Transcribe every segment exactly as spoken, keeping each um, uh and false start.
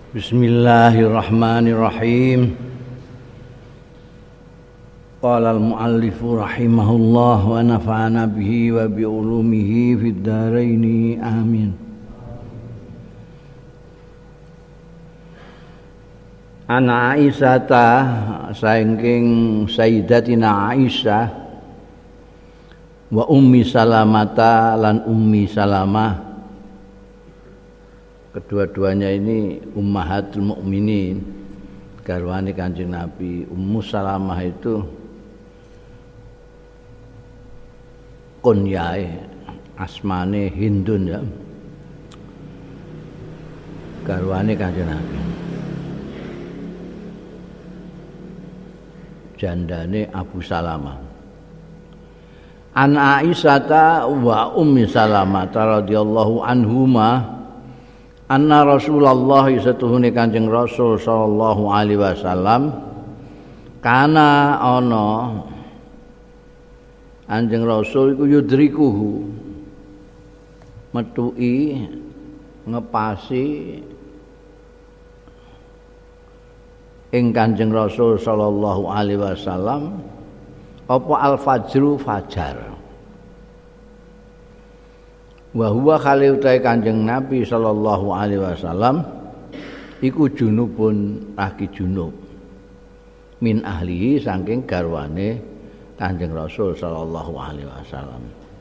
Bismillahirrahmanirrahim. Qala al-muallifu rahimahullah wa nafa'ana bihi wa bi ulumihi fid dharain amin. Ana Aisyata saking Sayyidatina Aisyah wa Ummi Salamata lan Ummi Salamah, kedua-duanya ini ummahatul mukminin, garwane Kanjeng Nabi. Ummu Salamah itu kunyae, asmane Hindun ya, garwane Kanjeng Nabi, jandane Abu Salamah. An Aisyata wa Ummi Salamah radhiyallahu anhuma anna Rasulullah satuhune Kanjeng Rasul sallallahu alaihi wasallam kana ana Kanjeng Rasul iku yudrikuhu metuki ngepasi ing Kanjeng Rasul sallallahu alaihi wasallam apa al-fajru fajar. Wa huwa khali utai Kanjeng Nabi sallallahu alaihi wasallam iku junubun lagi junub min ahlihi saking garwane Kanjeng Rasul sallallahu alaihi wasallam.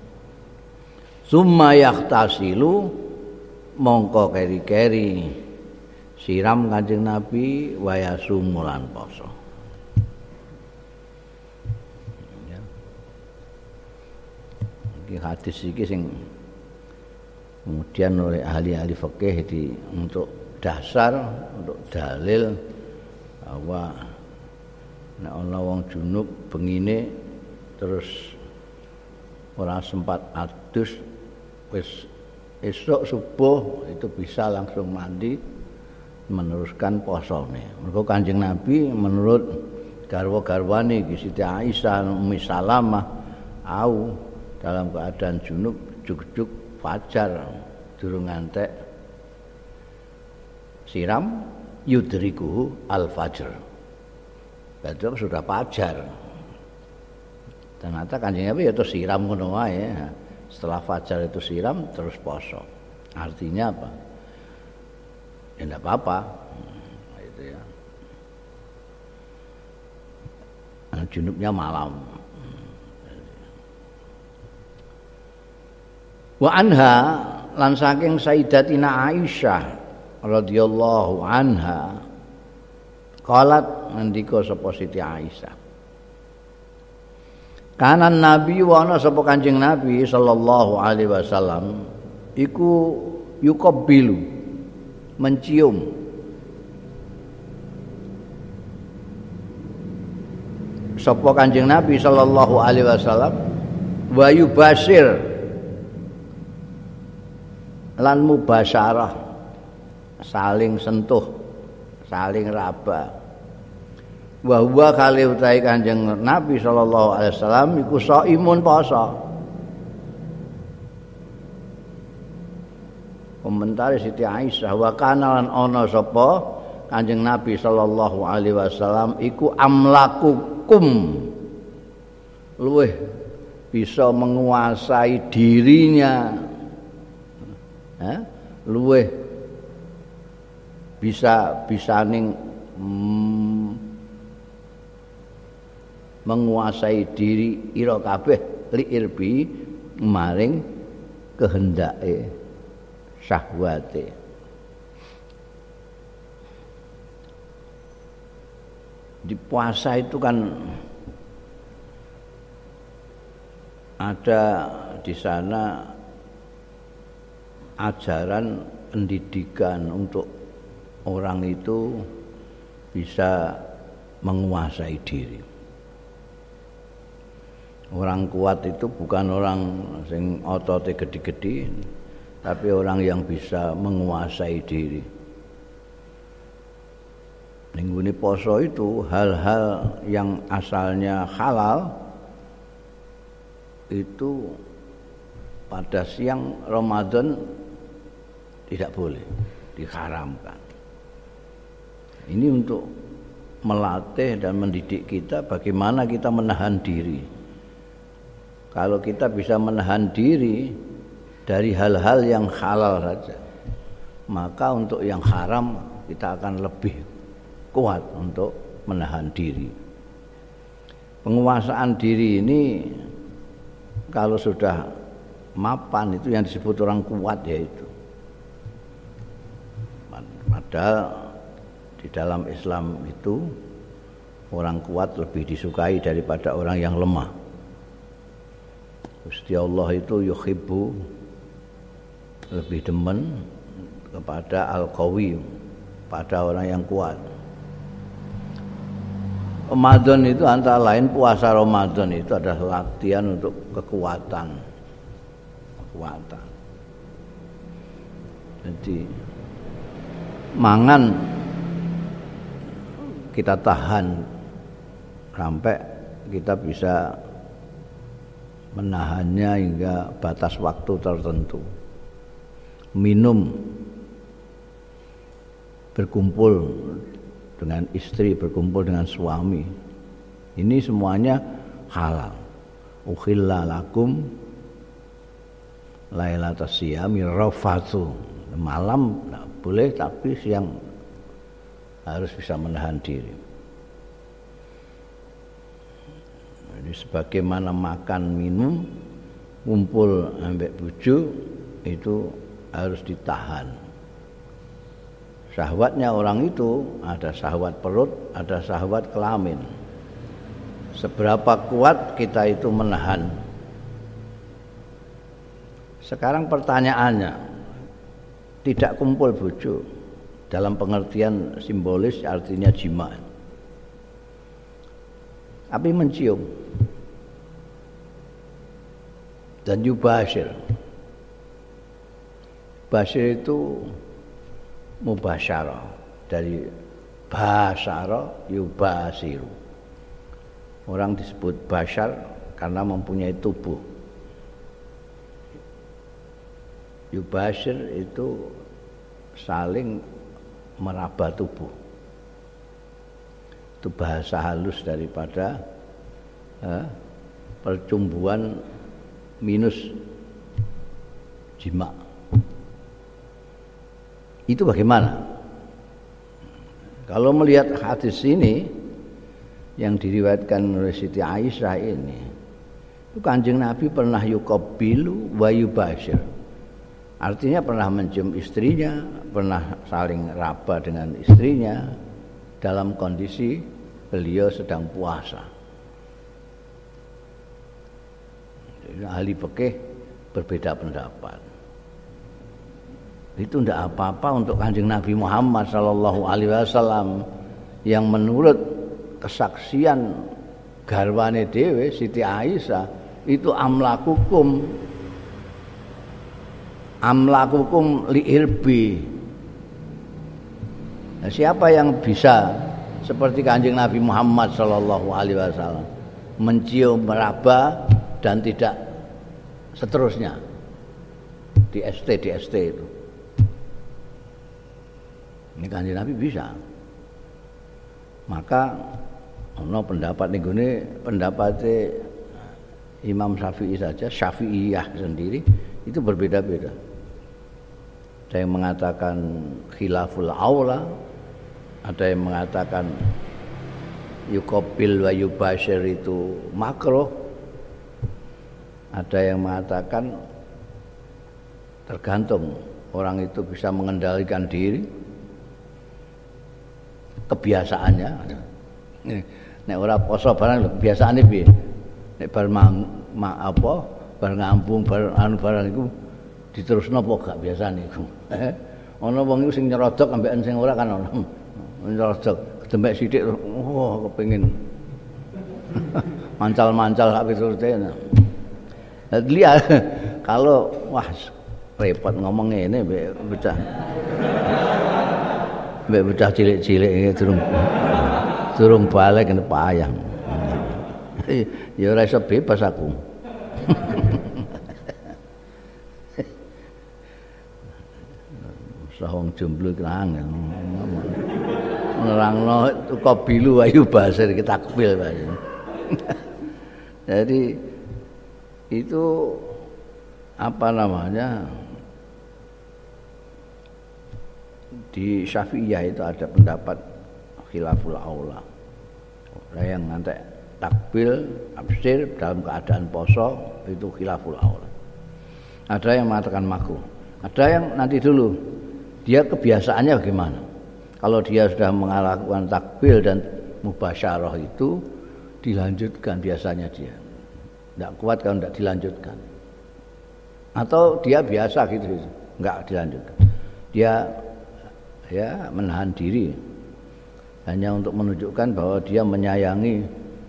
Summa yahtasilu mongko keri-keri siram Kanjeng Nabi wa yasumu lan poso. Iki hadis iki sing kemudian oleh ahli-ahli fikih di untuk dasar, untuk dalil bahwa nek ana wong junub bengine terus ora sempat adus, wis esuk subuh itu bisa langsung mandi meneruskan posone. Mergo Kanjeng Nabi menurut garwa-garwane Siti Aisyah, Ummi Salamah au dalam keadaan junub juk-juk fajar durung ngantek siram yudrikuhu al-fajr. Berarti sudah fajar. Ternyata Kanjeng Nabi ya terus siram ngono wae. Setelah fajar itu siram terus poso. Artinya apa? Ya enggak apa-apa. Itu ya. Junubnya malam. Wa anha lan saking Sayyidatina Aisyah radhiyallahu anha qalat ngendika sapa Siti Aisyah, kana Nabi wa ana sapa Kanjeng Nabi sallallahu alaihi wasallam iku yuqabbilu mencium sapa Kanjeng Nabi sallallahu alaihi wasallam wa yubashir lan mubasyarah, saling sentuh, saling raba. Wa huwa kali utahe Kanjeng Nabi sallallahu alaihi wasallam iku shaimun poso. Komentar Siti Aisyah, wa kana lan ana sapa Kanjeng Nabi sallallahu alaihi wasallam iku amlakukum, luweh bisa menguasai dirinya, eh, luweh bisa bisaning mm, menguasai diri ira kabeh liirbi maring kehendake syahwate. Di puasa itu kan ada di sana ajaran pendidikan untuk orang itu bisa menguasai diri. Orang kuat itu bukan orang sing otote gede-gede, tapi orang yang bisa menguasai diri. Ninggune poso itu hal-hal yang asalnya halal itu pada siang Ramadan tidak boleh, diharamkan. Ini untuk melatih dan mendidik kita bagaimana kita menahan diri. Kalau kita bisa menahan diri dari hal-hal yang halal saja, maka untuk yang haram kita akan lebih kuat untuk menahan diri. Penguasaan diri ini kalau sudah mapan itu yang disebut orang kuat, yaitu padahal di dalam Islam itu orang kuat lebih disukai daripada orang yang lemah. Gusti Allah itu yuhibbu, lebih demen kepada al-qawi, pada orang yang kuat. Ramadan itu antara lain, puasa Ramadan itu adalah latihan untuk kekuatan. Kekuatan. Jadi mangan kita tahan sampai kita bisa menahannya hingga batas waktu tertentu. Minum, berkumpul dengan istri, berkumpul dengan suami, ini semuanya halal. Ukhilla lakum lailatas siyami rafathu. Malam tidak boleh, tapi siang harus bisa menahan diri. Jadi sebagaimana makan, minum, kumpul ambek bojo itu harus ditahan. Syahwatnya orang itu ada syahwat perut, ada syahwat kelamin. Seberapa kuat kita itu menahan. Sekarang pertanyaannya, tidak kumpul bojo dalam pengertian simbolis artinya jima, tapi mencium dan yubashir. Bashir itu mubasyarah, dari basyara yubasiru. Orang disebut basyar karena mempunyai tubuh. Yubashir itu saling meraba tubuh. Itu bahasa halus daripada eh, percumbuan minus jima. Itu bagaimana? Kalau melihat hadis ini yang diriwayatkan oleh Siti Aisyah ini, itu Kanjeng Nabi pernah yuqabbilu wa yubashir. Artinya pernah mencium istrinya, pernah saling raba dengan istrinya dalam kondisi beliau sedang puasa. Ahli fikih berbeda pendapat. Itu tidak apa-apa untuk Kanjeng Nabi Muhammad sallallahu alaihi wasallam yang menurut kesaksian garwane dhewe Siti Aisyah itu amlakukum amlakukum liirbi. Nah, siapa yang bisa seperti Kanjeng Nabi Muhammad sallallahu alaihi wasallam mencium, meraba dan tidak seterusnya di S T di S T itu. Ini Kanjeng Nabi bisa. Maka ono pendapat ning gone pendapatnya Imam Syafi'i saja, Syafi'iyah sendiri itu berbeda-beda. Ada yang mengatakan khilaful aula, ada yang mengatakan yuqabbil wa yubashir itu makruh, ada yang mengatakan tergantung orang itu bisa mengendalikan diri, kebiasaannya. Nek ora poso barang kebiasaane piye? Nek bar mang, ma, apa bar ngambung bar anu barang iku diterusno apa gak biasane iku. Ana wong iku sing nyerodok ambekan sing ora kan ana. Nyerodok dembek sithik wah kepengin mancal-mancal sak piturute. Lihat kalau wah repot ngomong ngene mbek bocah. Mbek bocah cilik-cilik iki durung durung balik kene payah. Ya ora iso bebas aku. Sahong jomblo iki angel. nerangno qabilu wa yubasir kita takbil Pak. Jadi itu apa namanya? Di Syafi'iyah itu ada pendapat khilaful aula. Yang nanti takbil, absir dalam keadaan poso itu khilaful aula. Ada yang mengatakan makruh. Ada yang nanti dulu dia kebiasaannya bagaimana? Kalau dia sudah melakukan takbil dan mubasyarah itu dilanjutkan biasanya dia. Tidak kuat kalau tidak dilanjutkan. Atau dia biasa gitu, enggak dilanjutkan. Dia ya menahan diri hanya untuk menunjukkan bahwa dia menyayangi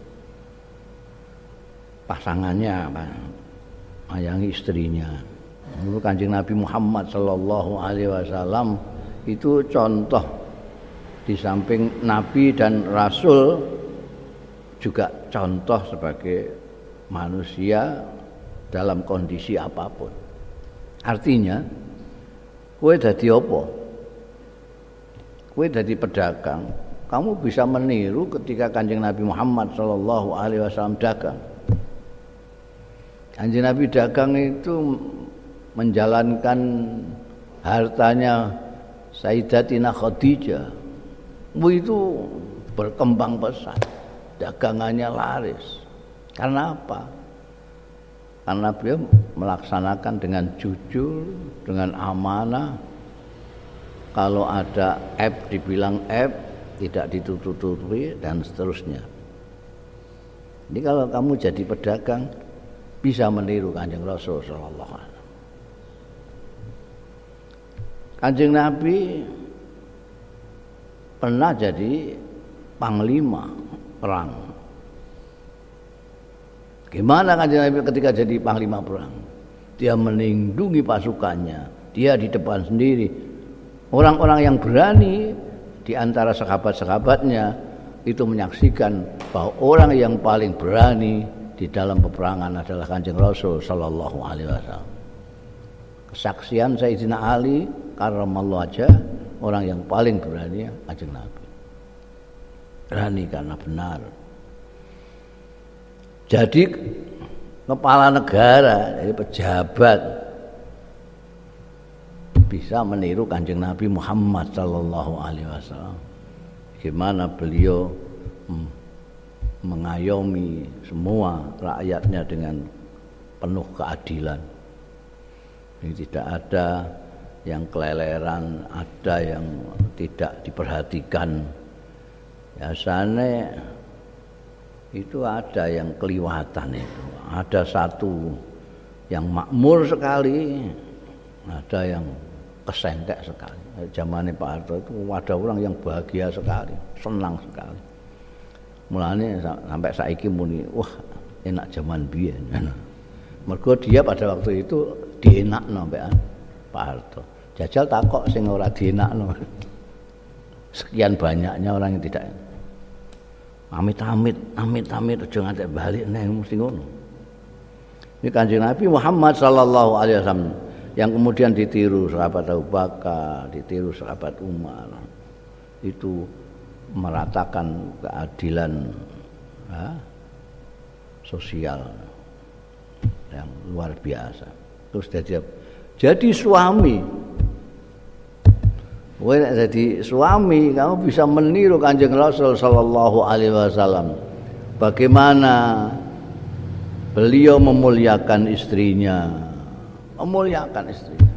pasangannya, menyayangi istrinya. Menurut Kanjeng Nabi Muhammad sallallahu alaihi wasallam itu contoh di samping Nabi dan Rasul juga contoh sebagai manusia dalam kondisi apapun. Artinya, kowe dadi apa? Kowe dadi pedagang, kamu bisa meniru ketika Kanjeng Nabi Muhammad sallallahu alaihi wasallam dagang. Kanjeng Nabi dagang itu menjalankan hartanya Sayyidatina Khadijah. Itu berkembang pesat, dagangannya laris. Karena apa? Karena beliau melaksanakan dengan jujur, dengan amanah. Kalau ada aib dibilang aib, tidak ditutup-tutupi dan seterusnya. Jadi kalau kamu jadi pedagang bisa meniru Kanjeng Rasul sallallahu alaihi wasallam. Kanjeng Nabi pernah jadi panglima perang. Gimana Kanjeng Nabi ketika jadi panglima perang? Dia melindungi pasukannya, dia di depan sendiri. Orang-orang yang berani di antara sahabat-sahabatnya itu menyaksikan bahwa orang yang paling berani di dalam peperangan adalah Kanjeng Rasul sallallahu alaihi wasallam. Kesaksian Sayyidina Ali karramallahu wajhah, orang yang paling berani Kanjeng Nabi. Berani karena benar. Jadi kepala negara, jadi pejabat bisa meniru Kanjeng Nabi Muhammad sallallahu alaihi wasallam. Gimana beliau hmm, mengayomi semua rakyatnya dengan penuh keadilan. Ini tidak ada yang keleleran, ada yang tidak diperhatikan. Biasanya itu ada yang keliwatan itu. Ada satu yang makmur sekali, ada yang kesengkek sekali. Zamannya Pak Harto itu ada orang yang bahagia sekali, senang sekali. Mulanya sampai saiki muni, wah enak zaman biyen. Mergo dia pada waktu itu dienakno sampean Pak Harto. Jajal takok sing ora dienakno. Sekian banyaknya orang yang tidak amit-amit, amit-amit aja ngantek balik neng mesti ngono. Ini Kanjeng Nabi Muhammad sallallahu alaihi wasallam yang kemudian ditiru sahabat Abu Bakar, ditiru sahabat Umar. Itu meratakan keadilan ya, sosial yang luar biasa. Terus jadi jadi suami. Kowe nek jadi suami, kamu bisa meniru Kanjeng Rasul sallallahu alaihi wasallam. Bagaimana beliau memuliakan istrinya, memuliakan istrinya.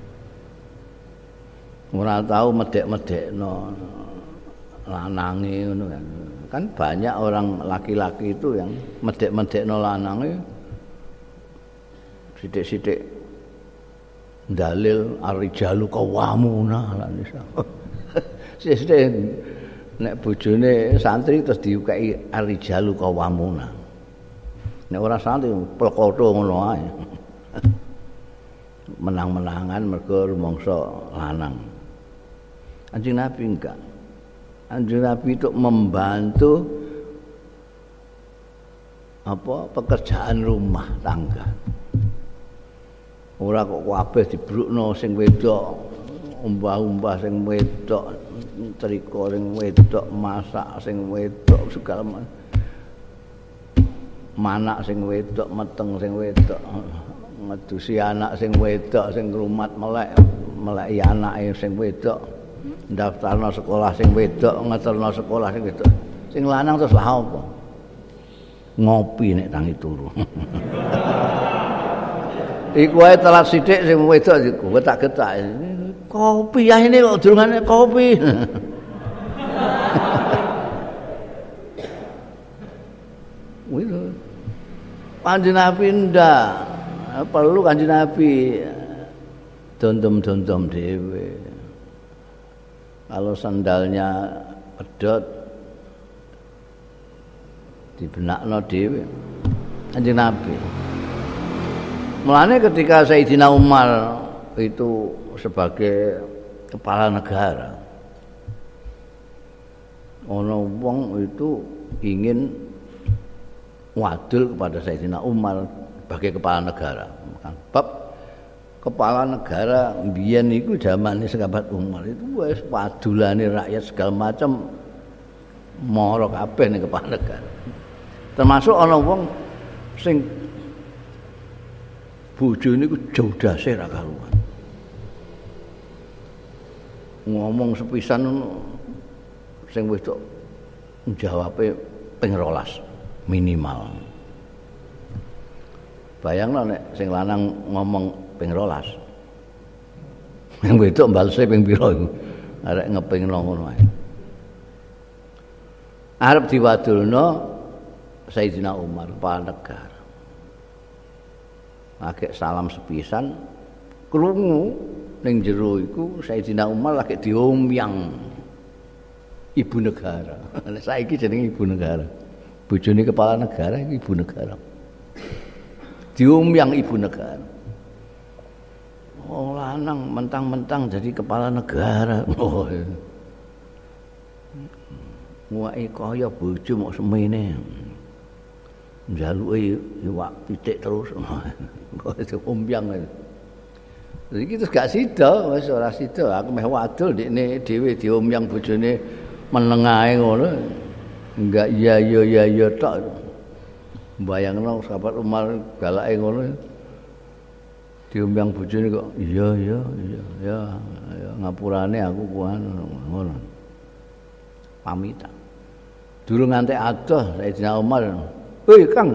Ora tahu medek-medekno lanange ngono kan. Kan banyak orang laki-laki itu yang medek-medekno lanange sithik-sithik dalil ar-rijalu qawwamuna 'alan nisa. Sithik nek bojone santri terus diukai ar-rijalu qawwamuna. Nek ora santri plekotho ngono ae. Menang-menangan mergo rumangsa lanang. Kanjeng Nabi enggak. Kanjeng Nabi itu membantu apa pekerjaan rumah tangga. Ora kok kabeh dibrukno sing wedok, umbah-umbah sing wedok triko sing wedok, masak sing wedok segala macam. Manak sing wedok, meteng sing wedok, ngedusi anak sing wedok sing ngrumat melek, meleki anake sing wedok. Ndaftarno sekolah sing wedok, ngeterno sekolah sing wedok. Sing lanang terus lah apa? Ngopi nek tangi turu. Iku ae telat sithik sing wedok iku getak-getak. Kopi ya ini kok durungane kopi. Wih. Kanjeng Nabi ndak perlu Kanjeng Nabi dondom-dondom dhewe. Kalau sandalnya pedot dibenakno dhewe Kanjeng Nabi. Mulane ketika Sayyidina Umar itu sebagai kepala negara, ono wong itu ingin wadul kepada Sayyidina Umar sebagai kepala negara. Bab kepala negara mbiyen iku zamane sahabat Umar itu wis wadulane rakyat segala macam mara kabeh ning kepala negara. Termasuk ana wong sing bojone iku jodase ra karuan. Ngomong sepisan sing wedok jawabe ping rolas minimal. Bayangno nek sing lanang ngomong ping rolas. Yang wedok balese ping pira iku? Arek ngepingno ngono ae. Arep diwadulno Sayyidina Umar kepala negara. Agek salam sepisan krungu ning jero iku Sayyidina Umar lagi diomyang ibu negara. Saiki jenenge ibu negara. Bojone kepala negara iki ibu negara. Diomyang ibu negara. Oh lanang mentang-mentang jadi kepala negara. Oh. Muake kaya bojo mok semene. Njaluke iwak pitik terus. Kok diomyang. Iki terus gak sida, wis ora sida. Aku meh wadul ndekne dhewe diomyang bojone meneng ae ngono. Enggak iya iya iya iya tok. Bayangno sahabat Umar galake ngono. Diomyang bojone kok iya iya iya ya ya ngapurane aku kuwi ngono. Pamitan. Durung ngantek adoh Sayyidina Umar. "Hei, Kang.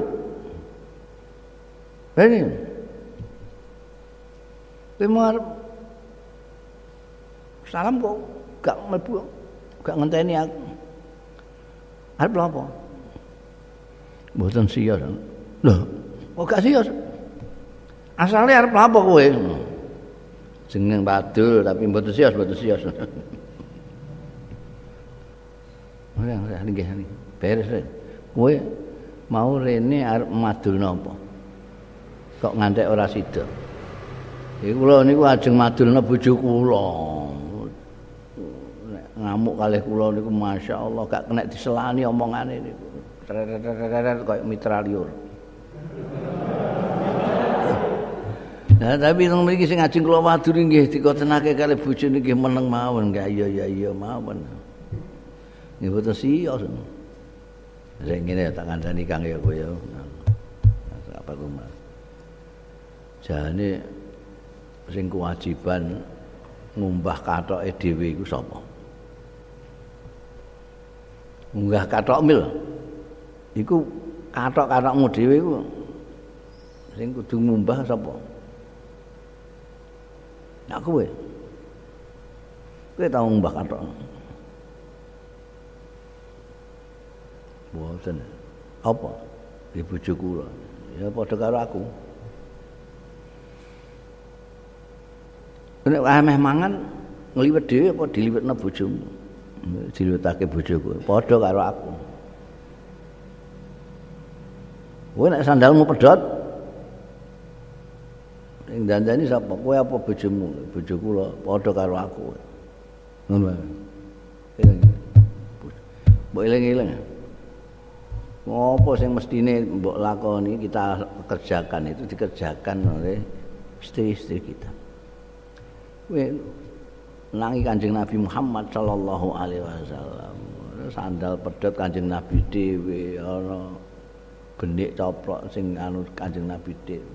Ini Umar salam kok gak mlebu, gak ngenteni aku. Arep lha apa? Mboten siyos. Lho, kok gak siyos? Asale arep lha apa kowe? Jeneng wadul tapi mboten siyos, mboten siyos. Ora, ora nggih nggih. Beres. Kowe mau rene arep madulno apa? Kok ngantek ora sida? Iku kula niku ajeng madulna bojo kula. Nek ngamuk kalih kula niku masyaallah gak kena diselani omongane niku. Tret-tret koyo mitra liur. Nah, tapi nang mriki sing ajeng kula wadul nggih dikotenake kalih bojo nggih meneng mawon, nggih iya iya iya mawon. Nggih boten siyos. Sing ngene tak kandhani Kang ya kowe ya. Apa rumah. Jane sing kewajiban ngumbah kathoke dhewe iku sapa? Munggah kathok mil. Iku kathok-kathokmu dhewe iku sing kudu ngumbah sapa? Nek kowe. Kowe tau ngumbah kathok. Boten. Apa? Di bojo kula. Ya padha karo aku. Nek ameh mangan ngliwet dhewe apa diliwetno bojomu? Diliwetake bojoku. Padha karo aku. Kowe nek sandalmu pedhot sing dandani sapa? Kowe apa bojomu? Bojo kula padha karo aku. Ngono. Mbok eling-eling. Ngopo sing mestine mbok lakoni kita kerjakan itu dikerjakan oleh istri-istri kita. Kowe nangi Kanjeng Nabi Muhammad sallallahu alaihi wasallam. Sandal pedhot Kanjeng Nabi dhewe ana benik coplok sing anu Kanjeng Nabi dhewe.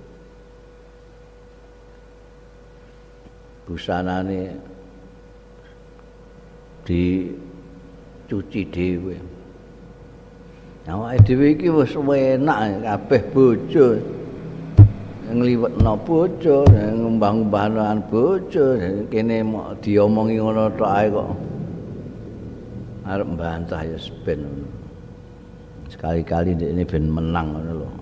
Busanane dicuci dhewe. Awake dhewe iki wis enak kabeh bojo. Ngliwetno bojo, ngembang-embangan bojo, kene mok diomongi ngono tok ae kok. Arep mbantah ya ben. Sekali-kali ini ben menang ngono lho.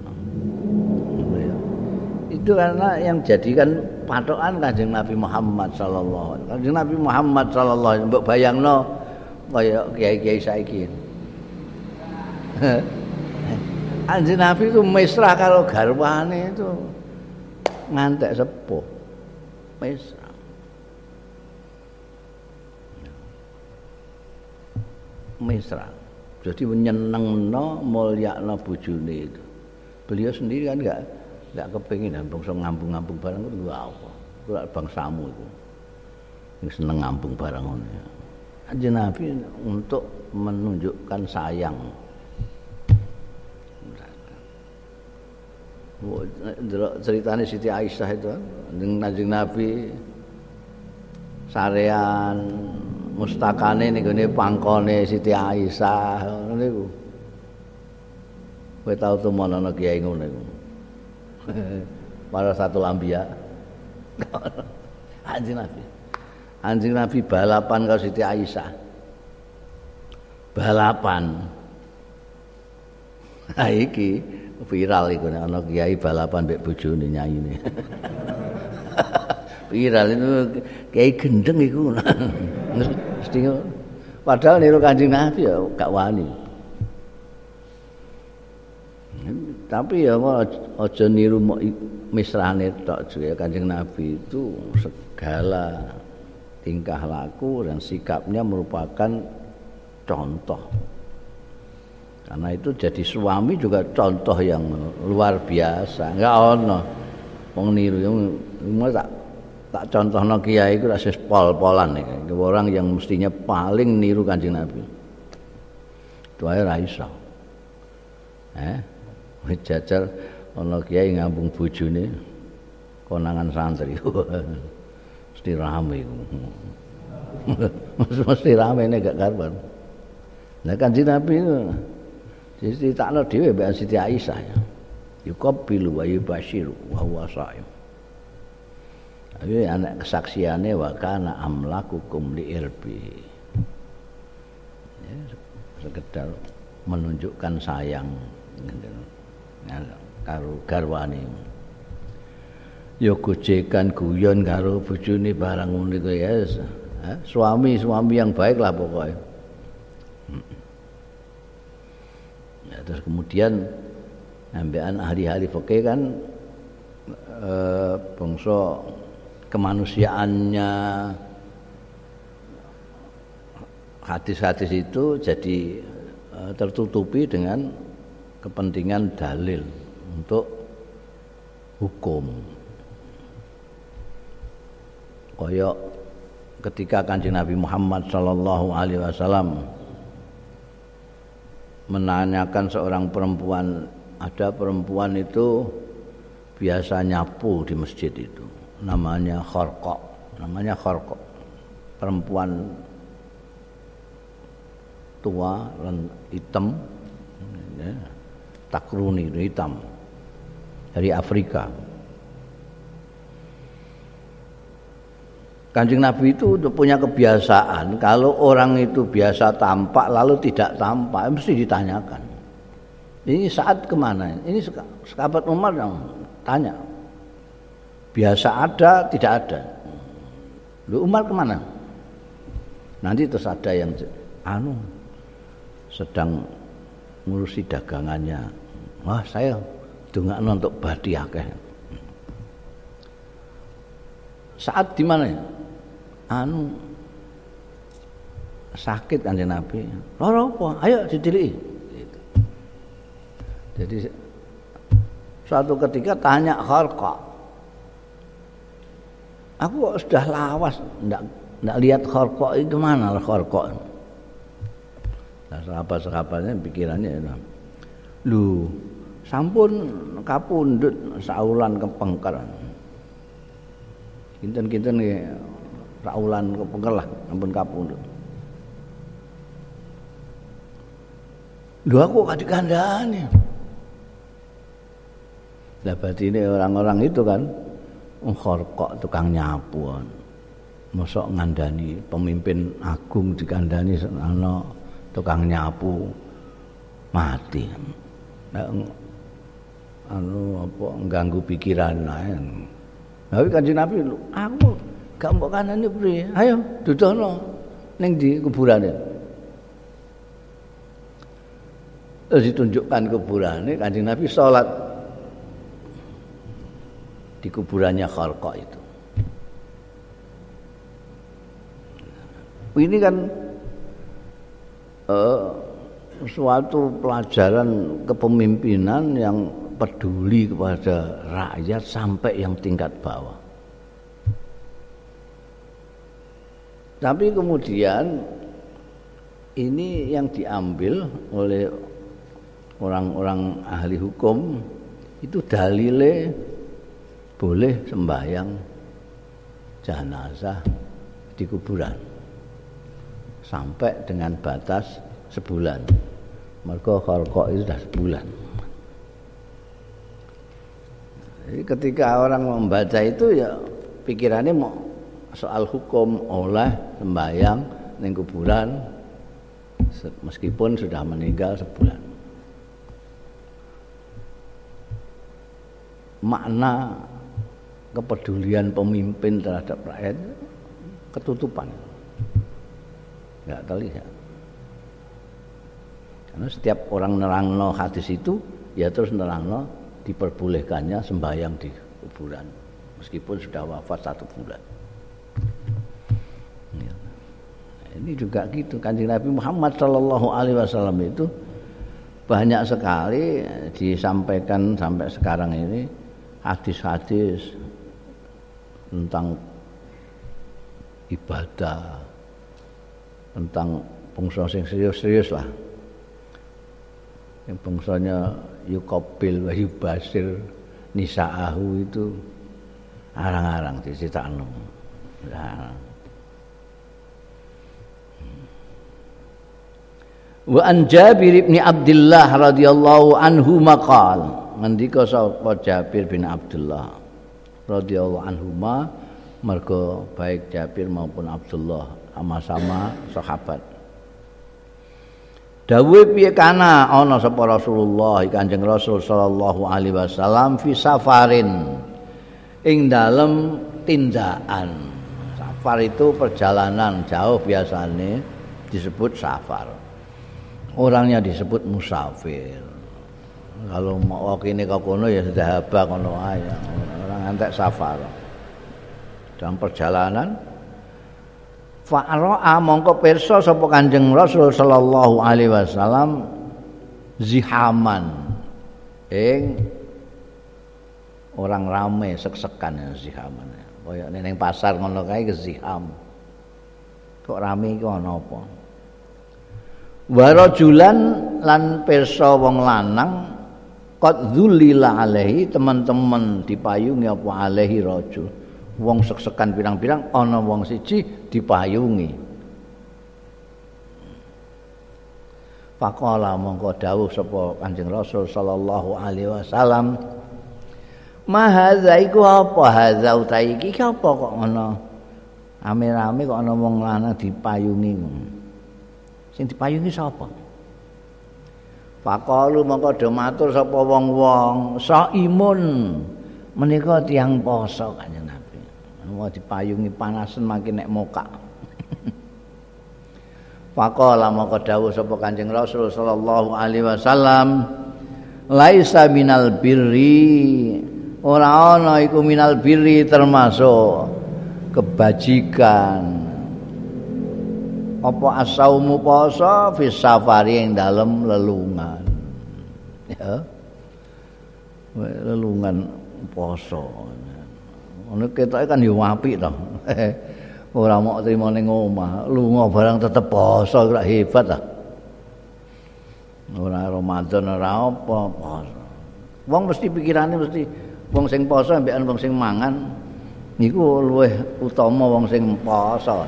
Itu karena yang jadikan patokan Kanjeng Nabi Muhammad sallallahu alaihi wasallam. Kanjeng Nabi Muhammad sallallahu alaihi wasallam mbok bayangno kaya kiai-kiai saiki. Kanjeng Nabi itu mesra kalau garwane itu ngantek sepuh. Mesra. Mesra. Jadi menyenengno mulyakno bojone itu. Beliau sendiri kan enggak enggak kepengin bangsa ngambung-ngambung barang itu apa. Ora bangsamu itu. Yang seneng ngambung barang ngono. Kanjeng Nabi untuk menunjukkan sayang. Ceritanya Siti Aisyah itu dengan Kanjeng Nabi sarean mustakane ning gone pangkone Siti Aisyah ngono niku. Kowe tau temen ana kiai ngono iku. Para satu lambiya. Kanjeng Nabi. Kanjeng Nabi balapan karo Siti Aisyah. Balapan. Ha iki viral iku nek ana kiai balapan mbek bojone nyayine. Viral itu kiai gendeng iku. Mesti padahal niru Kanjeng Nabi ya gak wani. Tapi ya aja niru misrane tok juga Kanjeng Nabi itu segala tingkah laku dan sikapnya merupakan contoh. Karena itu jadi suami juga contoh yang luar biasa. Enggak ono wong niru yang tak tak contohno kiai iku rasis pol-polan iki. Orang yang mestinya paling niru Kanjeng Nabi. Itu ae ra iso. Eh, wis jajal ana kiai ngambung bojone konangan santri. Mesti rame iku. Mesti rame nek gak karuan. Nah Kanjeng Nabi itu jadi takno dhewe mbek Siti Aisyah ya. Yuqabbilu wa yubashiru wa huwa shaim. Ayo anak kesaksiane wa kana amlakukum li irbi. Ya, sekedar menunjukkan sayang karo garwane. Ya gojekan guyon karo bojone barang ngono iku ya. Suami-suami yang baik lah pokoknya. Ya, terus kemudian ambekan ahli-ahli fikih kan eh, bangsa kemanusiaannya hadis-hadis itu jadi eh, tertutupi dengan kepentingan dalil untuk hukum. Kaya ketika Kanjeng Nabi Muhammad sallallahu alaihi wasallam menanyakan seorang perempuan, ada perempuan itu biasa nyapu di masjid itu, namanya Kharqa, namanya Kharqa, perempuan tua dan hitam, ya, takruni hitam dari Afrika. Kanjeng Nabi itu punya kebiasaan kalau orang itu biasa tampak lalu tidak tampak mesti ditanyakan. Ini saat kemana? Ini sahabat Umar yang tanya. Biasa ada, tidak ada. Lu Umar kemana? Nanti terus ada yang anu sedang ngurusi dagangannya. Wah saya dongakno untuk badi akeh. Saat di mana? Anu sakit Kanjeng Nabi. Loro apa? Ayo ditiliki. Gitu. Jadi suatu ketika tanya Kharqa. Aku kok sudah lawas, enggak ndak lihat Kharqa itu mana lah Kharqa. Nah, sahabat-sahabatnya pikirannya ya. Lu sampun kapundhut saulan kepengker. Kinten-kinten nggih saulan kepengker lah sampun kapundhut. Lho aku gak dikandani. Lah batine orang-orang itu kan Kharqa tukang nyapu. Mosok ngandani pemimpin agung dikandani ana tukang nyapu mati. Anu apa ganggu pikiran lae. Tapi Kanjeng Nabi, aku gak mbok kanane priye? Ayo dudono ning ndi kuburane. Terus ditunjukkan kuburane Kanjeng Nabi salat di kuburannya Kharqa itu. Ini kan Uh, suatu pelajaran kepemimpinan yang peduli kepada rakyat sampai yang tingkat bawah. Tapi kemudian ini yang diambil oleh orang-orang ahli hukum itu dalile boleh sembahyang jenazah di kuburan. Sampai dengan batas sebulan. Mergo Kharqa itu sudah sebulan. Jadi ketika orang membaca itu ya pikirannya mau soal hukum oleh sembahyang ning kuburan meskipun sudah meninggal sebulan. Makna kepedulian pemimpin terhadap rakyat ketutupan. Enggak terlihat. Karena setiap orang nerangno hadis itu ya terus nerangno diperbolehkannya sembahyang di kuburan meskipun sudah wafat satu bulan. Ya. Nah, ini juga gitu. Kanjeng Nabi Muhammad sallallahu alaihi wasallam itu banyak sekali disampaikan sampai sekarang ini hadis-hadis tentang ibadah, tentang bangsa sing serius-serius lah. Yang bangsanya yuqabil wa yubasir nisa'ahu itu arang-arang diceritakno. Nah. Wa an Jabir bin Abdullah radhiyallahu anhu maqal, ngendika sapa Jabir bin Abdullah radhiyallahu anhuma, mergo baik Jabir maupun Abdullah sama-sama sahabat. Dawuh piye kana ana sapa Rasulullah Kanjeng Rasul sallallahu alaihi wasallam fi safarin ing dalem tindakan. Safar itu perjalanan jauh biasanya disebut safar. Orangnya disebut musafir. Kalau mau kene ke kono ya sudah haba kono ae. Orang antek safar. Dalam perjalanan fa'ara'a mongko pirsa sapa Kanjeng Rasul sallallahu alaihi wasallam zihaman ing orang rame sek-sekan ya zihaman. Kaya ning pasar ngono kae ziham. Kok rame iki ana apa? Wa rajulan lan pirsa wong lanang qad dzulila alaihi, teman-teman dipayungi apa alaihi rajul. Wong sek-sekan pirang-pirang ana wong siji dipayungi. Faqala mongko dawuh sapa Kanjeng Rasul sallallahu alaihi wasallam, "Ma hadza iku apa hadza utahe iki apa kok ana ame-ame kok ana wong lanang dipayungi." Sing dipayungi sapa? Faqalu mongko do matur sapa wong-wong, "Saimun." Menika tiyang poso Kanjeng Nabi. Mau dipayungi panasen makin nek mokak. Faqala maka dawuh sapa Kanjeng Rasul sallallahu alaihi wasallam, laisa minal birri, ora ana iku minal birri termasuk kebajikan. Apa asaumu poso fi safari ing dalem lelungan. Ya. Lelungan poso. Ono ketoke kan yo apik to. ora mau trimo ning omah, lunga barang tetep poso kok hebat ah. Ora Ramadan ora apa poso. Wong mesti pikirane mesti wong sing poso ambekan wong sing mangan niku luwih utama wong sing poso.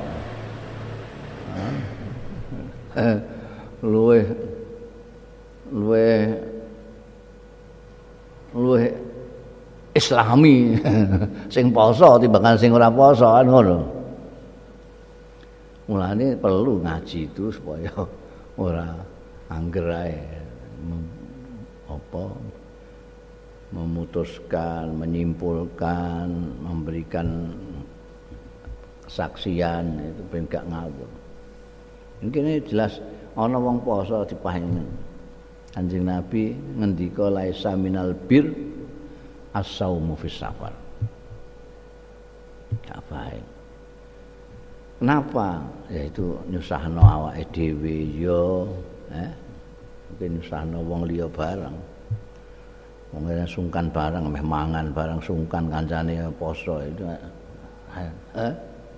luwih luwih luwih Islami sing poso timbangan sing ora poso kan ngono. Mulane perlu ngaji itu supaya ora angger ae apa memutuskan, menyimpulkan, memberikan kesaksian itu ben gak ngawur. Mungkin ini jelas ana wong poso dipahami. Kanjeng Nabi ngendika laisa minal bir as-saumu fis safar. Gak baik. Kenapa? Yaitu nyusahno awake dhewe yo, eh mungkin nyusahno wong liya barang. Wong kene sungkan barang, meh mangan barang sungkan kancane poso itu. Eh?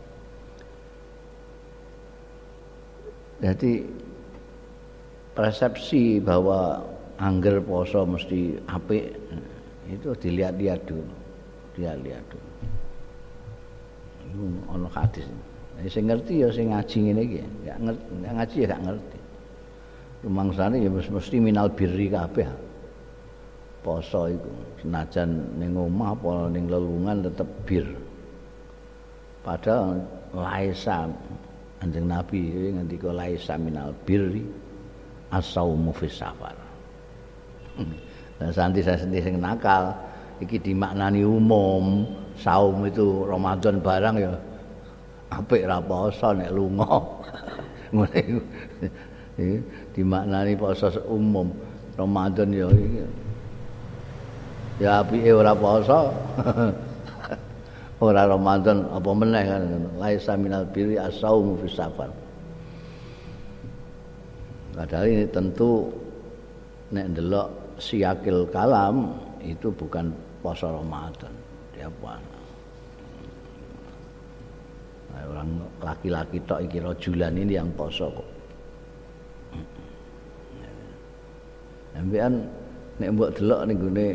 Jadi persepsi bahwa angger poso mesti apik itu dilihat-lihat dulu, dilihat-lihat dulu. Itu ono hadis. Nek sing ngerti ya sing ngaji ngene iki, gak ngerti, ngaji ya gak ngerti. Rumangsane ya mesti minal birri kabeh. Poso iku senajan ning omah apa ning lelungan tetep bir. Padahal laisa Kanjeng Nabi ngendika laisa minal birri as-saumu fis safar. Lah santi-santi sing nakal iki dimaknani umum, saum itu Ramadan barang ya apik ra poso nek lunga. Ngene iku. Dimaknani poso umum, Ramadan ya iki. Ya apike ora poso. Ora Ramadan apa meneh kan laisa minal birri as-saumu fis safar. Padahal ini tentu nek ndelok siakil kalam itu bukan poso Ramadan. Dia puasa. Nah, orang laki-laki tok iki rajulan ini yang poso kok. Ambekan nek mbok delok ning gone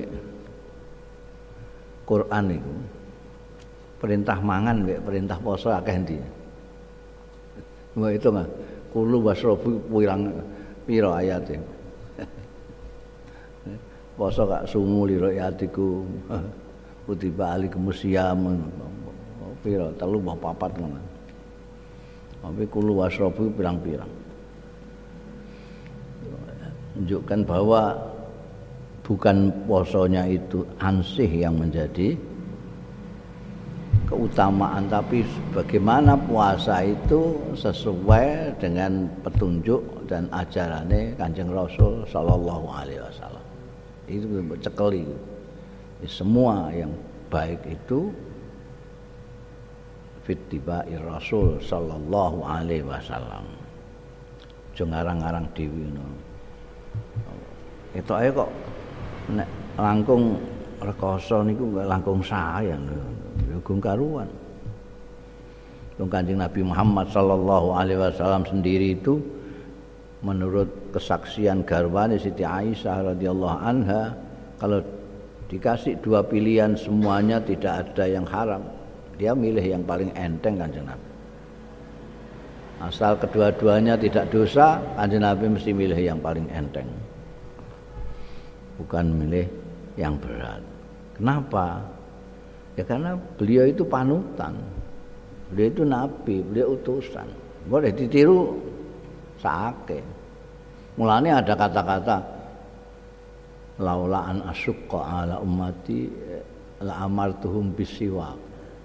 Quran iku perintah mangan mek perintah poso akeh ndi. Mbok itu nggak kulu wasrobu pirang pira ayate. Poso gak sumu liro yatiku. Kutiba alikumus syiyam. Pira telu mbah papat ngono. Tapi kulu wasrobu pirang-pirang. Menunjukkan bahwa bukan posonya itu ansih yang menjadi keutamaan, tapi bagaimana puasa itu sesuai dengan petunjuk dan ajarannya Kanjeng Rasul sallallahu alaihi wasallam. Itu cekeli. Semua yang baik itu fittiba'i Rasul sallallahu alaihi wasallam. Aja ngarang-ngarang dhewe ngono. Ketoke kok nek langkung rekoso niku langkung sayang lho. Gung karuan. Kanjeng Nabi Muhammad sallallahu alaihi wasallam sendiri itu menurut kesaksian garwane Siti Aisyah radhiyallahu anha, kalau dikasih dua pilihan semuanya tidak ada yang haram, dia milih yang paling enteng Kanjeng Nabi. Asal kedua-duanya tidak dosa, Kanjeng Nabi mesti milih yang paling enteng, bukan milih yang berat. Kenapa? Ya karena beliau itu panutan, beliau itu nabi, beliau utusan. Boleh ditiru saake. Mulane ada kata-kata laula an asyqa ala ummati la amartuhum bisiwak.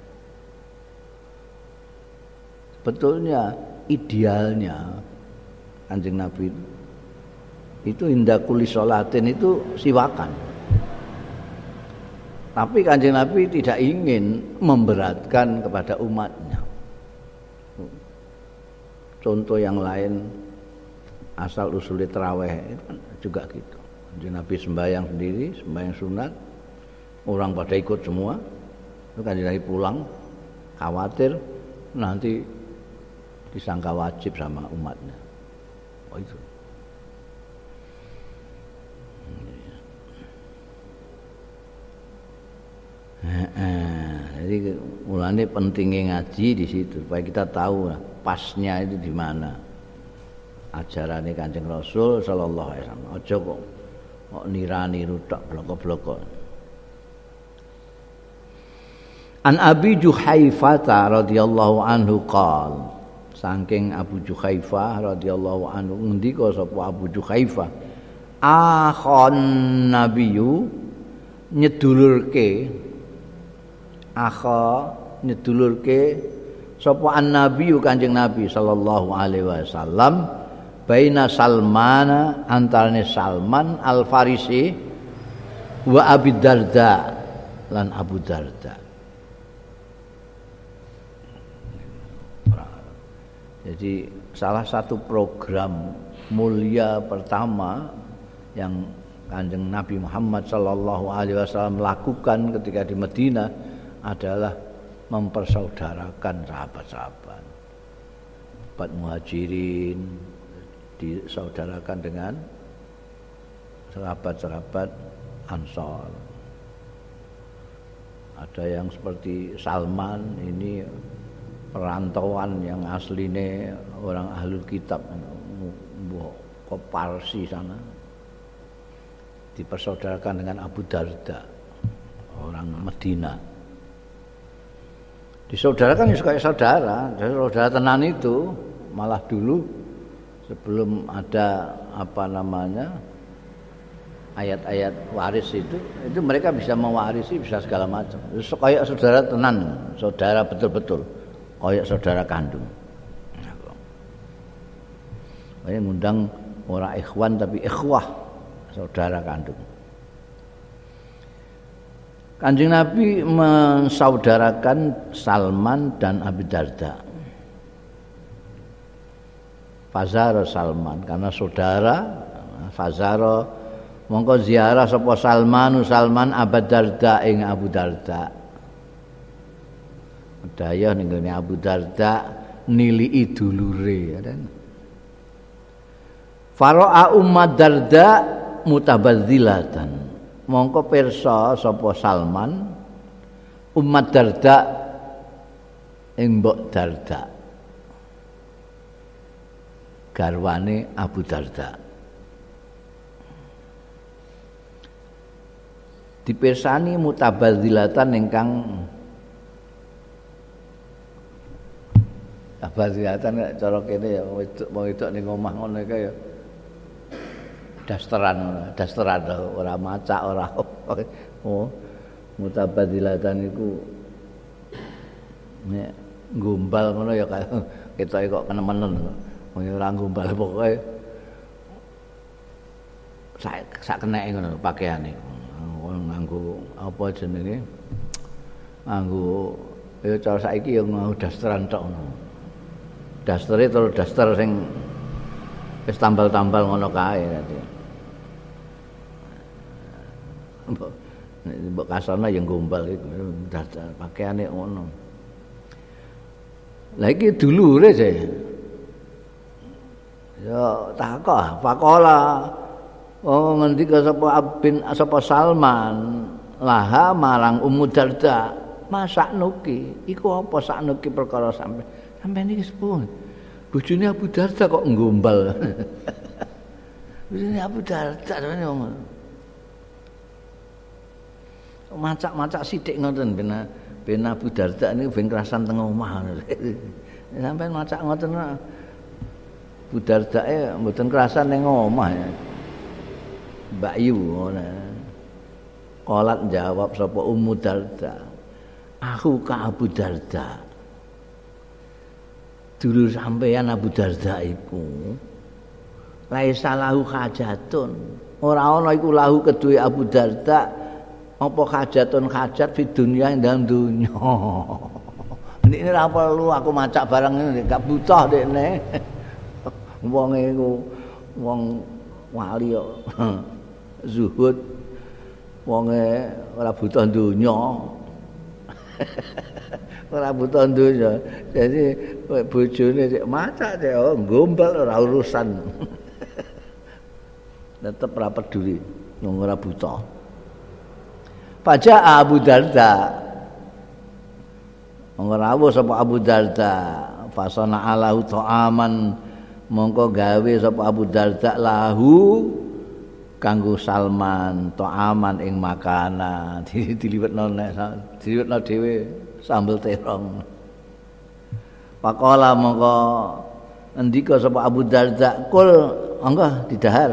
Betulnya idealnya Kanjeng Nabi itu, itu indah kuli sholatin itu siwakan. Tapi Kanjeng Nabi tidak ingin memberatkan kepada umatnya. Contoh yang lain asal usul tarawih itu kan juga gitu. Kanjeng Nabi sembahyang sendiri, sembahyang sunat, orang pada ikut semua. Itu Kanjeng Nabi pulang, khawatir nanti disangka wajib sama umatnya. Oh itu. Jadi mulanya pentingnya ngaji di situ supaya kita tahu lah, pasnya itu di mana ajaran Kanjeng Rasul sallallahu alaihi wasallam. Aja kok kok nira-niru tok bloko-bloko. An Abi Juhaifah radhiyallahu anhu qala, saking Abu Juhaifah radhiyallahu anhu ngendika sapa Abu Juhaifah, akhon nabiyyu nyedulurke akha nyedulurke sapa an-nabiyyu Kanjeng Nabi sallallahu alaihi wasallam baina Salmana antarane Salman Al-Farisi wa Abi Darda lan Abu Darda. Jadi salah satu program mulia pertama yang Kanjeng Nabi Muhammad sallallahu alaihi wasallam lakukan ketika di Madinah adalah mempersaudarakan sahabat-sahabat. Sahabat Muhajirin disaudarakan dengan sahabat-sahabat Ansor. Ada yang seperti Salman ini perantauan yang aslinya orang ahlul kitab ke Parsi sana, dipersaudarakan dengan Abu Darda orang Madinah. Disaudarakan ya kayak saudara, saudara tenan itu malah dulu sebelum ada apa namanya ayat-ayat waris itu, itu mereka bisa mewarisi, bisa segala macam. Kayak saudara tenan, saudara betul-betul, kayak saudara kandung. Kayak ngundang orang ikhwan tapi ikhwah, saudara kandung. Kanjeng Nabi mensaudarakan Salman dan Abi Darda. Fazara Salman karena saudara, Fazara mongko ziarah sapa Salmanu Salman Abu Darda ing Abu Darda. Daya ning gone Abu Darda nilii dulure ya kan. Fara'a Ummu Darda mutabadzilatan. Mongko pirsa sapa Salman Ummu Darda ing Mbok Darda garwane Abu Darda. Dipirsani mutabadzilatan ingkang tabadzilatan cara kene ya wedok ning omah ngono iki ya dasteran, dasteran ora macak ora. Oh, mutabadzilatan iku nek gombal ngono ya kaya ketoke kok kenemenen. Wong ora gombal pokoke sak sak keneke ngono pakaiane. Nganggo apa jenenge? Nganggo ya cara saiki ya nganggo dasteran tok ngono. Dastere terus daster sing wis tambal-tambal ngono kae dadi. Mbok mbok kasana yang gombal iku pakaiane ngono. Lah iki dulure sih. Ya takok, faqala oh ngendika sapa Abin sapa Salman laha marang Ummu Darda, masak nuki iku apa saknuki perkara sampe sampeyan iki sepun. Bojone Abu Darda kok nggombal. Bojone Abu Darda ngomong. Macak-macak sithik ngoten ben ben Abu Darda niku ben kerasan teng omah. Sampeyan macak ngoten Abu Dardae mboten kerasan ning omah ya. Mbak Yu ngono. Qolat jawab sapa Ummu Darda. Aku ka Abu Darda. Dulur sampeyan Abu Darda iku laisa lahu hajatun. Ora ana iku lahu kedue Abu Darda apa hajatun hajat di dunia ing dalam dunya. Ini ora perlu aku macak barang ini gak butuh dekne. Wong iku wong wali kok zuhud wonge ora butuh dunya. Ora buta donya. Jadi bojone sik macak sik oh gombal ora urusan. Tetep ora peduli wong ora buta. Paja Abu Darda. Wong rawuh sapa Abu Darda, fasana alahu ta'aman mongko gawe sapa Abu Darda lahu kanggo Salman ta'aman ing makanan diliwetno nek diliwetno dhewe sambel terong. Pakola mongko ngendika sapa Abu Darda, "Kul angga didahar."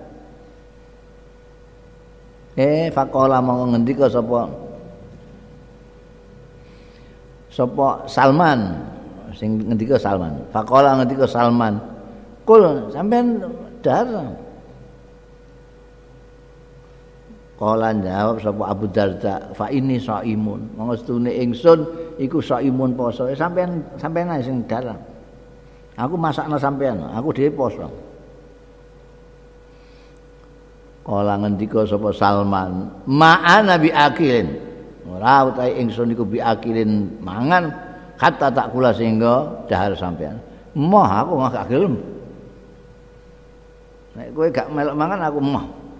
Eh fakola mongko ngendika sapa sapa Salman sing ngendika Salman. Fakola ngendika Salman, "Kul sampean dahar." Kala jawab sapa Abu Darda, "Fa ini shaimun." Monggo setune ingsun iku shaimun poso. Sampeyan sampeyan ae sing dalang. Aku masakna sampeyan, aku dhewe poso. Kala ngendika sapa Salman, "Ma'ana bi akilin." Ora utahe ingsun iku bi akilin mangan kata tak kula sehingga dahar sampeyan. Moh aku gak gelem. Nek kowe gak melok mangan aku moh.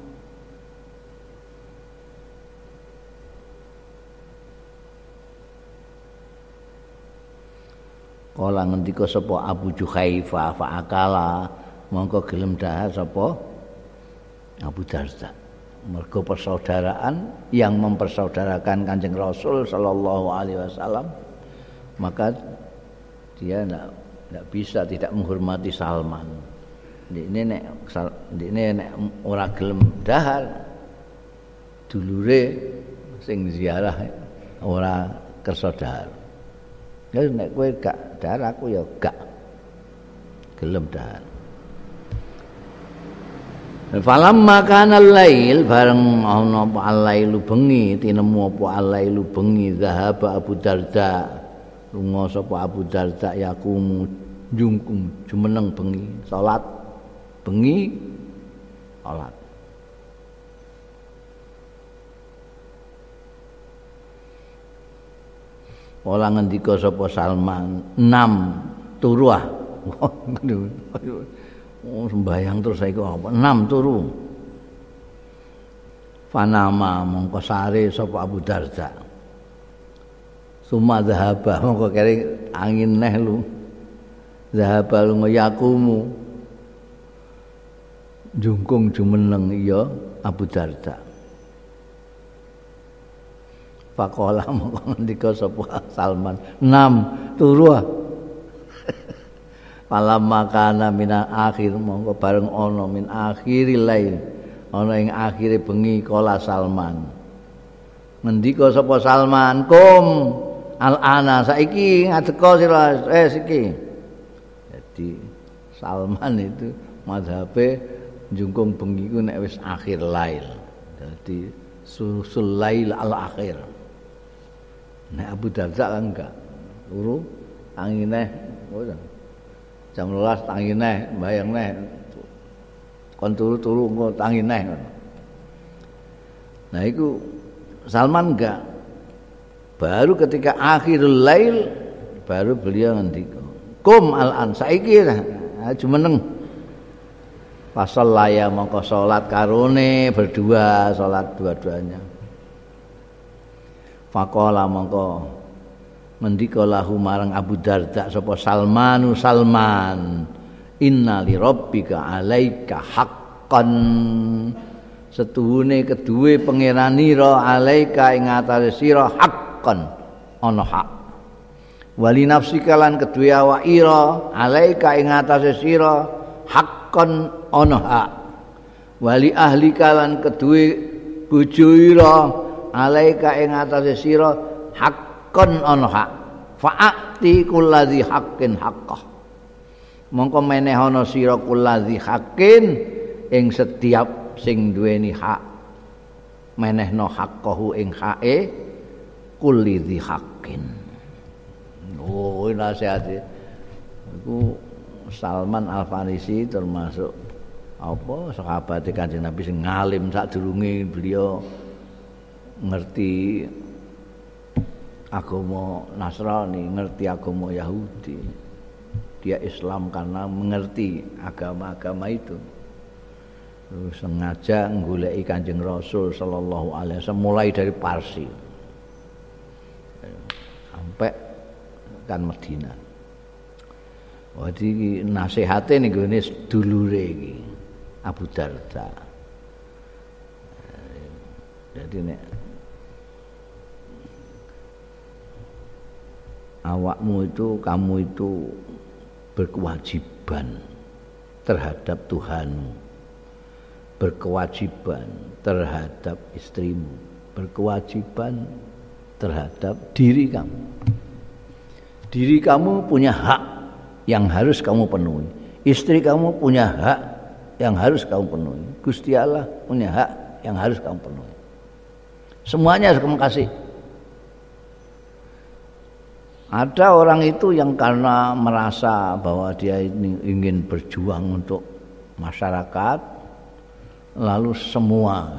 Kala ngendika sapa Abu Juhaifa fa akala mongko gelem dahar sapa Abu Darda. Mergo persaudaraan yang mempersaudarakan Kanjeng Rasul sallallahu alaihi wasallam, maka dia enggak enggak bisa tidak menghormati Salman. Ini nek ini nek ora gelem dahar dulure sing ziarah ora kersa dahar. Ya nek kowe gak dahar aku ya gak gelem dahar. Falamma kana al-lail bareng ana apa al-lailu bengi tinemu apa al-lailu bengi zahaba Abu Darda lunga sapa Abu Darda yakum jungkum jumeneng bengi salat bengi salat. Ola ngendika sapa Salman, enam turu ah. Oh sembayang terus saiki apa? enam turu. Fanama mongko sare sapa Abu Darda. Suma zahaba mongko kere angin neh lu. Zahaba lu yakumu. Jungkung jumeneng iya Abu Darda. Pakola mongko ngendika sapa Salman, enam turu. Falam makana mina akhir mongko bareng ana min akhiril lail ana ing akhire bengi kala Salman. Ngendika sapa Salman, "Kum al-ana saiki ngadeka sira eh iki." Jadi Salman itu mazhabe njungkung bengi ku nek wis akhir lail. Jadi susul lail al-akhir. Nek Abu Darda kan enggak. Turu angine ngono. Jam dua belas tangi neh, bayang neh. Kon turu-turu engko tangi neh. Nah itu Salman enggak. Baru ketika akhirul lail baru beliau ngendika, "Kum al-an saiki jumeneng." Pasal laya mongko salat karone berdua, salat dua-duanya. Faqala mongko ngendika lahu marang Abu Darda sapa Salmanu Salman, "Inna li rabbika 'alaika haqqan." Setuhune keduwe pangeranira 'alaika ing atase sira haqqan ana hak. Wali nafsika lan keduwe awakira 'alaika ing atase sira haqqan ana hak. Wali ahlika lan keduwe bojoira 'alaika ing atase sira hak kon ana hak. Fa'ati kulladzi haqqin haqqah. Mongko meneh ana sira kulladzi haqqin ing setiap sing duweni hak. Menehno haqqahu ing hake kulladzi haqqin. Oh, nasihate. Iku Salman Al-Farisi termasuk apa sahabat Kanjeng Nabi sing ngalim sadurunge beliau ngerti agama Nasrani, ngerti agama Yahudi. Dia Islam karena mengerti agama-agama itu. Terus sengaja nggoleki Kanjeng Rasul sallallahu alaihi wasallam mulai dari Parsi sampai kan Madinah. Jadi nasihate ning gone sedulure iki Abu Darda. Jadi nek awakmu itu, kamu itu berkewajiban terhadap Tuhanmu, berkewajiban terhadap istrimu, berkewajiban terhadap diri kamu. Diri kamu punya hak yang harus kamu penuhi. Istri kamu punya hak yang harus kamu penuhi. Gusti Allah punya hak yang harus kamu penuhi. Semuanya harus kamu kasih. Ada orang itu yang karena merasa bahwa dia ini ingin berjuang untuk masyarakat, lalu semua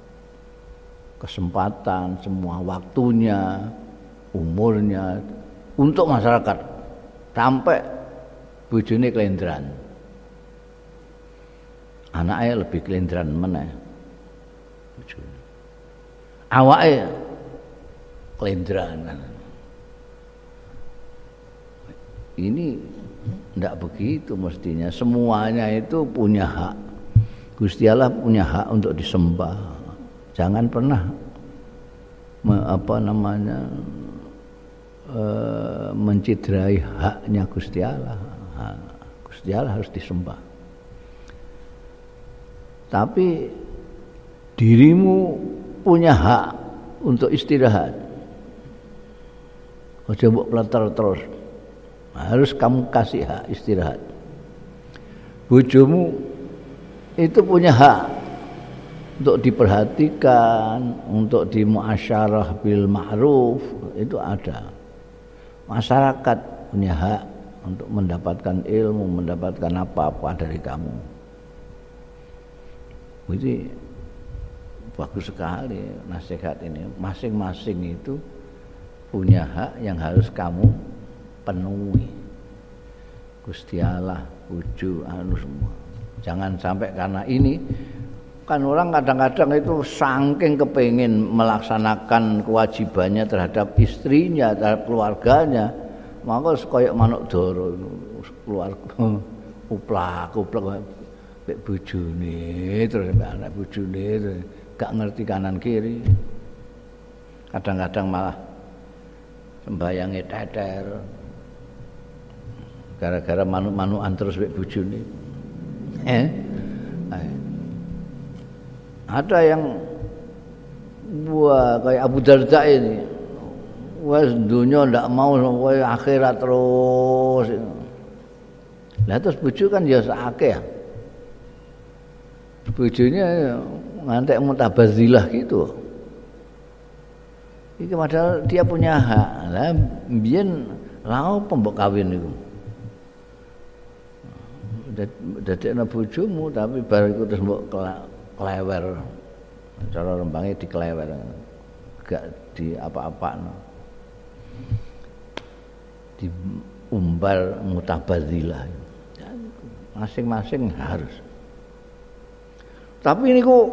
kesempatan, semua waktunya, umurnya untuk masyarakat, sampai bojone kelendran. Anaknya lebih kelendran meneh. Awake kelendran. Ini tidak begitu mestinya. Semuanya itu punya hak. Gusti Allah punya hak untuk disembah. Jangan pernah me, apa namanya e, menciderai haknya Gusti Allah. Ha, Gusti Allah harus disembah. Tapi dirimu punya hak untuk istirahat. Ojo mbok pleter terus. Harus kamu kasih hak istirahat. Bojomu itu punya hak untuk diperhatikan, untuk dimuasyarah bil ma'ruf, itu ada. Masyarakat punya hak untuk mendapatkan ilmu, mendapatkan apa-apa dari kamu. Jadi bagus sekali nasihat ini. Masing-masing itu punya hak yang harus kamu penuhi. Gusti Allah, bojo, anu semua. Jangan sampai karena ini, kan orang kadang-kadang itu saking kepengin melaksanakan kewajibannya terhadap istrinya, terhadap keluarganya, maka koyok manuk doro keluarga uplak uplak mek bojone terus anak bojone terus gak ngerti kanan kiri. Kadang-kadang malah sembayange teter gara-gara manuk-manukan terus mek bojone. Eh? Ada yang wah kayak Abu Darda ini, wes dunia ndak mau, wes akhirat terus. Lah terus bojo kan ya sakeh. Bojone ngantek mutabazilah gitu. Iki padahal dia punya hak. Lah mbiyen lha opo mbok kawin niku? Dadekno bojomu tapi bar iku terus mbok klewer. Cara rembangnya diklewer. Gak di apa-apakno. Diumbar mutabadzilah. Masing-masing harus. Tapi niku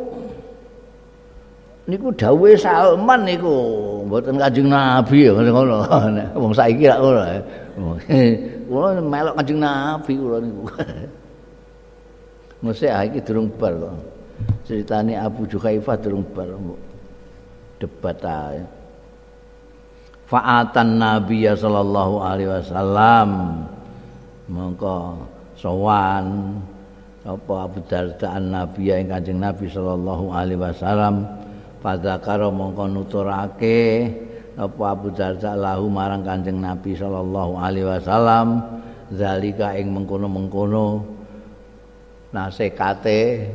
niku dawuhe Salman niku mboten Kanjeng Nabi ya ngono. Wong saiki lak ngono. Kula melok Kanjeng Nabi kula niku. Mesti iki durung bar kok. Ceritane Abu Juhaifah durung bar debat ae. Fa'atan Nabi sallallahu alaihi wasallam mongko sowan apa Abu Darda an-Nabi ing Kanjeng Nabi sallallahu alaihi wasallam fadzakara mongko nuturake apa Abu Darda lahu marang Kanjeng Nabi sallallahu alaihi wasallam zalika ing mengkono-mengkono nasekate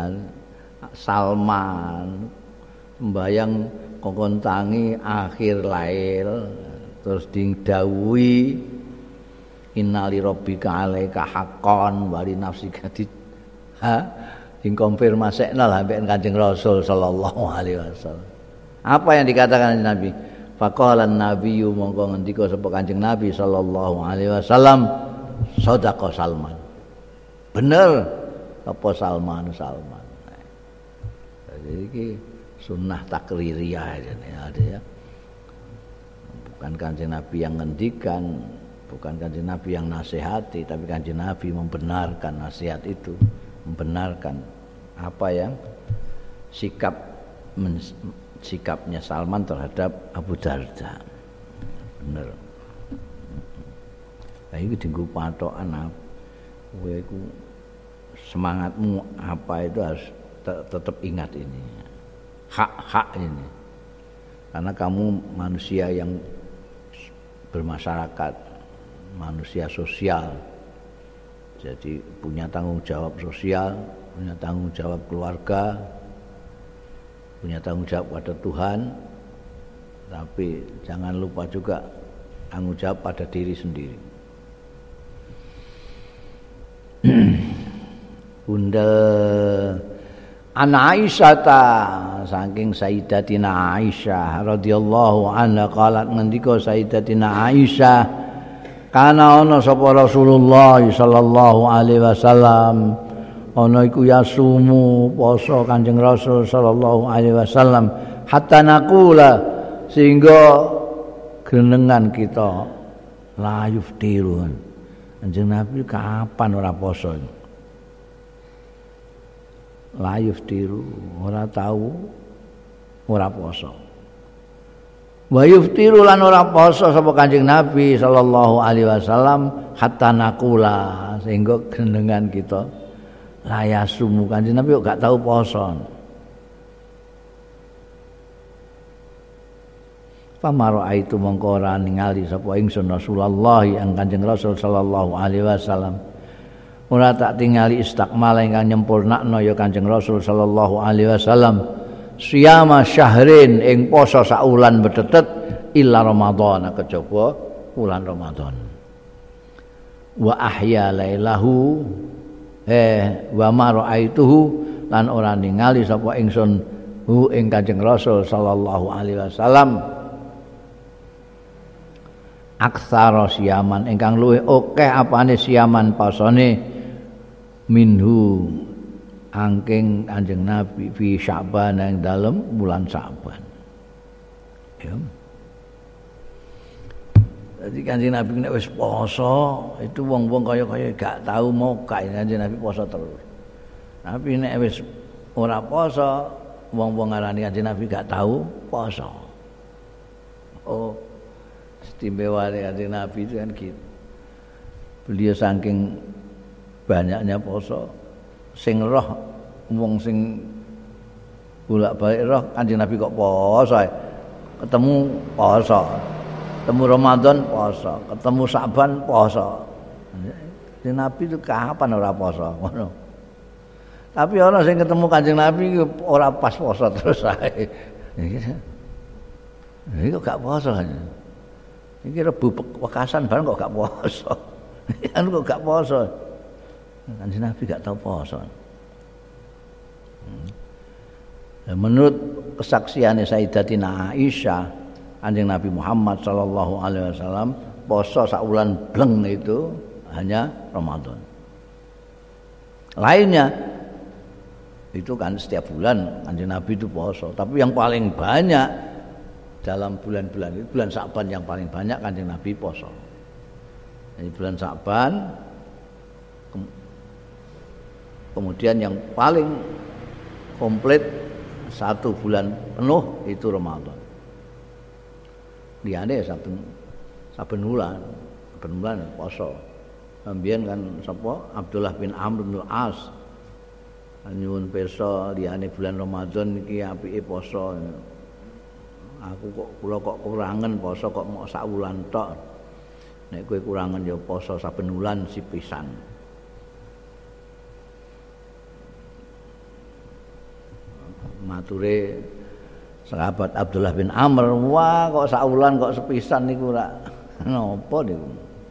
Salman sembayang kongkon tangi akhir lail terus dingdawuhi innali rabbika alaika haqqan wa li nafsika di ha ding konfirmasekna lah mbek Kanjeng Rasul sallallahu alaihi wasallam. Apa yang dikatakan Nabi? Faqala an-nabiyyu mongko ngendika sapa Kanjeng Nabi sallallahu alaihi wasallam, shadaqa Salman. Bener apa Salman Salman. Jadi iki sunnah takririyah ada ya. Bukan Kanjeng Nabi yang ngendikan, bukan Kanjeng Nabi yang nasihati, tapi Kanjeng Nabi membenarkan nasihat itu, membenarkan apa yang sikap men, sikapnya Salman terhadap Abu Darda. Bener. Lah iki dienggo patokan kowe iku semangatmu apa itu harus te- tetap ingat ini. Hak-hak ini. Karena kamu manusia yang bermasyarakat, manusia sosial. Jadi punya tanggung jawab sosial, punya tanggung jawab keluarga, punya tanggung jawab pada Tuhan, tapi jangan lupa juga tanggung jawab pada diri sendiri. Bunda Ana Aisyah ta saking Sayyidatina Aisyah radhiyallahu anha qalat ngendika Sayyidatina Aisyah kana ana sapa Rasulullah sallallahu alaihi wasallam ana iku yasumu poso Kanjeng Rasul sallallahu alaihi wasallam hatta naqula sehingga genengan kita la yuftirun. Kanjeng Nabi kapan ora poso? La yuftiru, ora tahu ora poso. Wa yuftiru lan ora poso sapa Kanjeng Nabi sallallahu alaihi wasallam hatta naqula sehingga genengan kita la yasumu. Kanjeng Nabi kok gak tahu poso. Pamaro aitu mongko ora ningali sapa ingsun Rasulullah yang Kanjeng Rasul sallallahu alaihi wasallam. Ora tak tingali istakmal ingkang nyempurnakno ya Kanjeng Rasul sallallahu alaihi wasallam siyama syahrin ing poso sak wulan betetet illa Ramadan kejaba wulan Ramadan. Wa ahya lailahu eh wa ma raaituhu lan ora ningali sapa ingsun hu ing Kanjeng Rasul sallallahu alaihi wasallam aksara siyaman ingkang luwih akeh apane siyaman posone minhu angking Kanjeng Nabi fi Sya'ban yang dalam bulan Sya'ban. Ya. Jadi Kanjeng Nabi nek wis poso itu wong-wong kaya-kaya gak tahu mau kae Kanjeng Nabi poso terus. Tapi nek wis ora poso wong-wong ngarani Kanjeng Nabi gak tahu poso. Oh, istimewa Kanjeng Nabi itu kan gitu. Beliau saking banyaknya poso sing roh wong sing bolak-balik roh Kanjeng Nabi kok poso ketemu poso ketemu Ramadan poso ketemu Sa'ban poso. Kanjeng Nabi itu kapan ora poso ngono. Tapi ana sing ketemu Kanjeng Nabi ora pas poso terus ae. Iki kok gak poso. Iki Rebu Wekasan bareng kok gak poso. Anu kok gak poso. Kanjeng Nabi gak tahu poso. Hmm. Menurut kesaksian Sayyidatina Aisyah, Kanjeng Nabi Muhammad sallallahu alaihi wasallam poso sak wulan bleng itu hanya Ramadan. Lainnya itu kan setiap bulan Kanjeng Nabi itu poso, tapi yang paling banyak dalam bulan-bulan itu bulan Sa'ban yang paling banyak Kanjeng Nabi poso. Jadi bulan Sa'ban kemudian yang paling komplit satu bulan penuh itu Ramadan. Liyane saben saben bulan, saben bulan poso. Ambiyen kan sapa Abdullah bin Amr bin As nyuwun pirsa liyane bulan Ramadan iki apike poso. Aku kok kula kok kurangen poso kok mok sak wulan tok. Nek kowe kurangen ya poso saben wulan sipisan. Mature sahabat Abdullah bin Amr, wah kok sak wulan kok sepisan niku ora napa niku.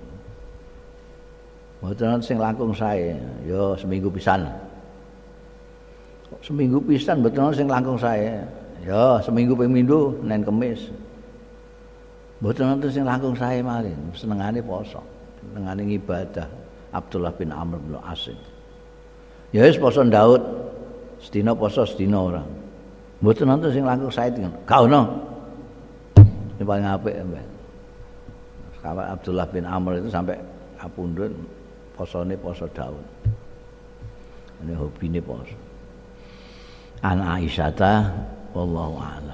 Mboten sing langkung sae, ya seminggu pisan. Kok seminggu pisan mboten sing langkung sae. Ya seminggu ping minggu Senin Kamis. Mboten wonten sing langkung sae malih, senengane poso, senengane ibadah. Abdullah bin Amr bin As. Ya wis poso Daud, sedina poso sedina ora. Mboten wonten sing langkung sae ngono. Gak ono. Sing paling apik mbak. Sahabat Abdullah bin Amr itu sampai kapundhut posone poso Daud. Ini hobine poso. An Aisyah wallahu a'lam.